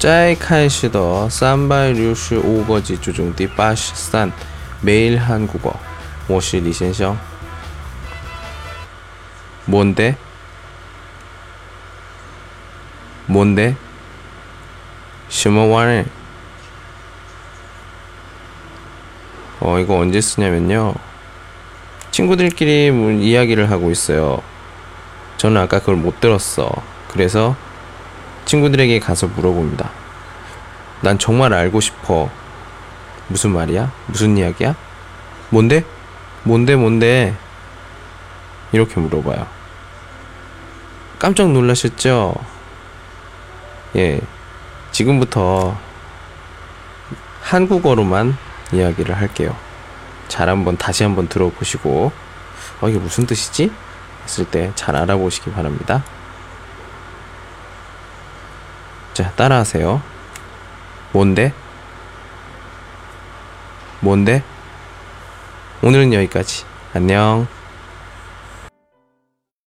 在开始的365个句中第83 매일 한국어 我是李先生 뭔데? 뭔데? 什么玩意? 이거 언제 쓰냐면요. 친구들끼리 이야기를 하고 있어요. 저는 아까 그걸 못 들었어. 그래서 친구들에게 가서 물어봅니다. 난 정말 알고 싶어. 무슨 말이야? 무슨 이야기야? 뭔데? 뭔데? 이렇게 물어봐요. 깜짝 놀라셨죠? 예. 지금부터 한국어로만 이야기를 할게요. 다시 한번 들어보시고, 이게 무슨 뜻이지? 했을 때 잘 알아보시기 바랍니다. 자, 따라하세요. 뭔데? 오늘은 여기까지. 안녕.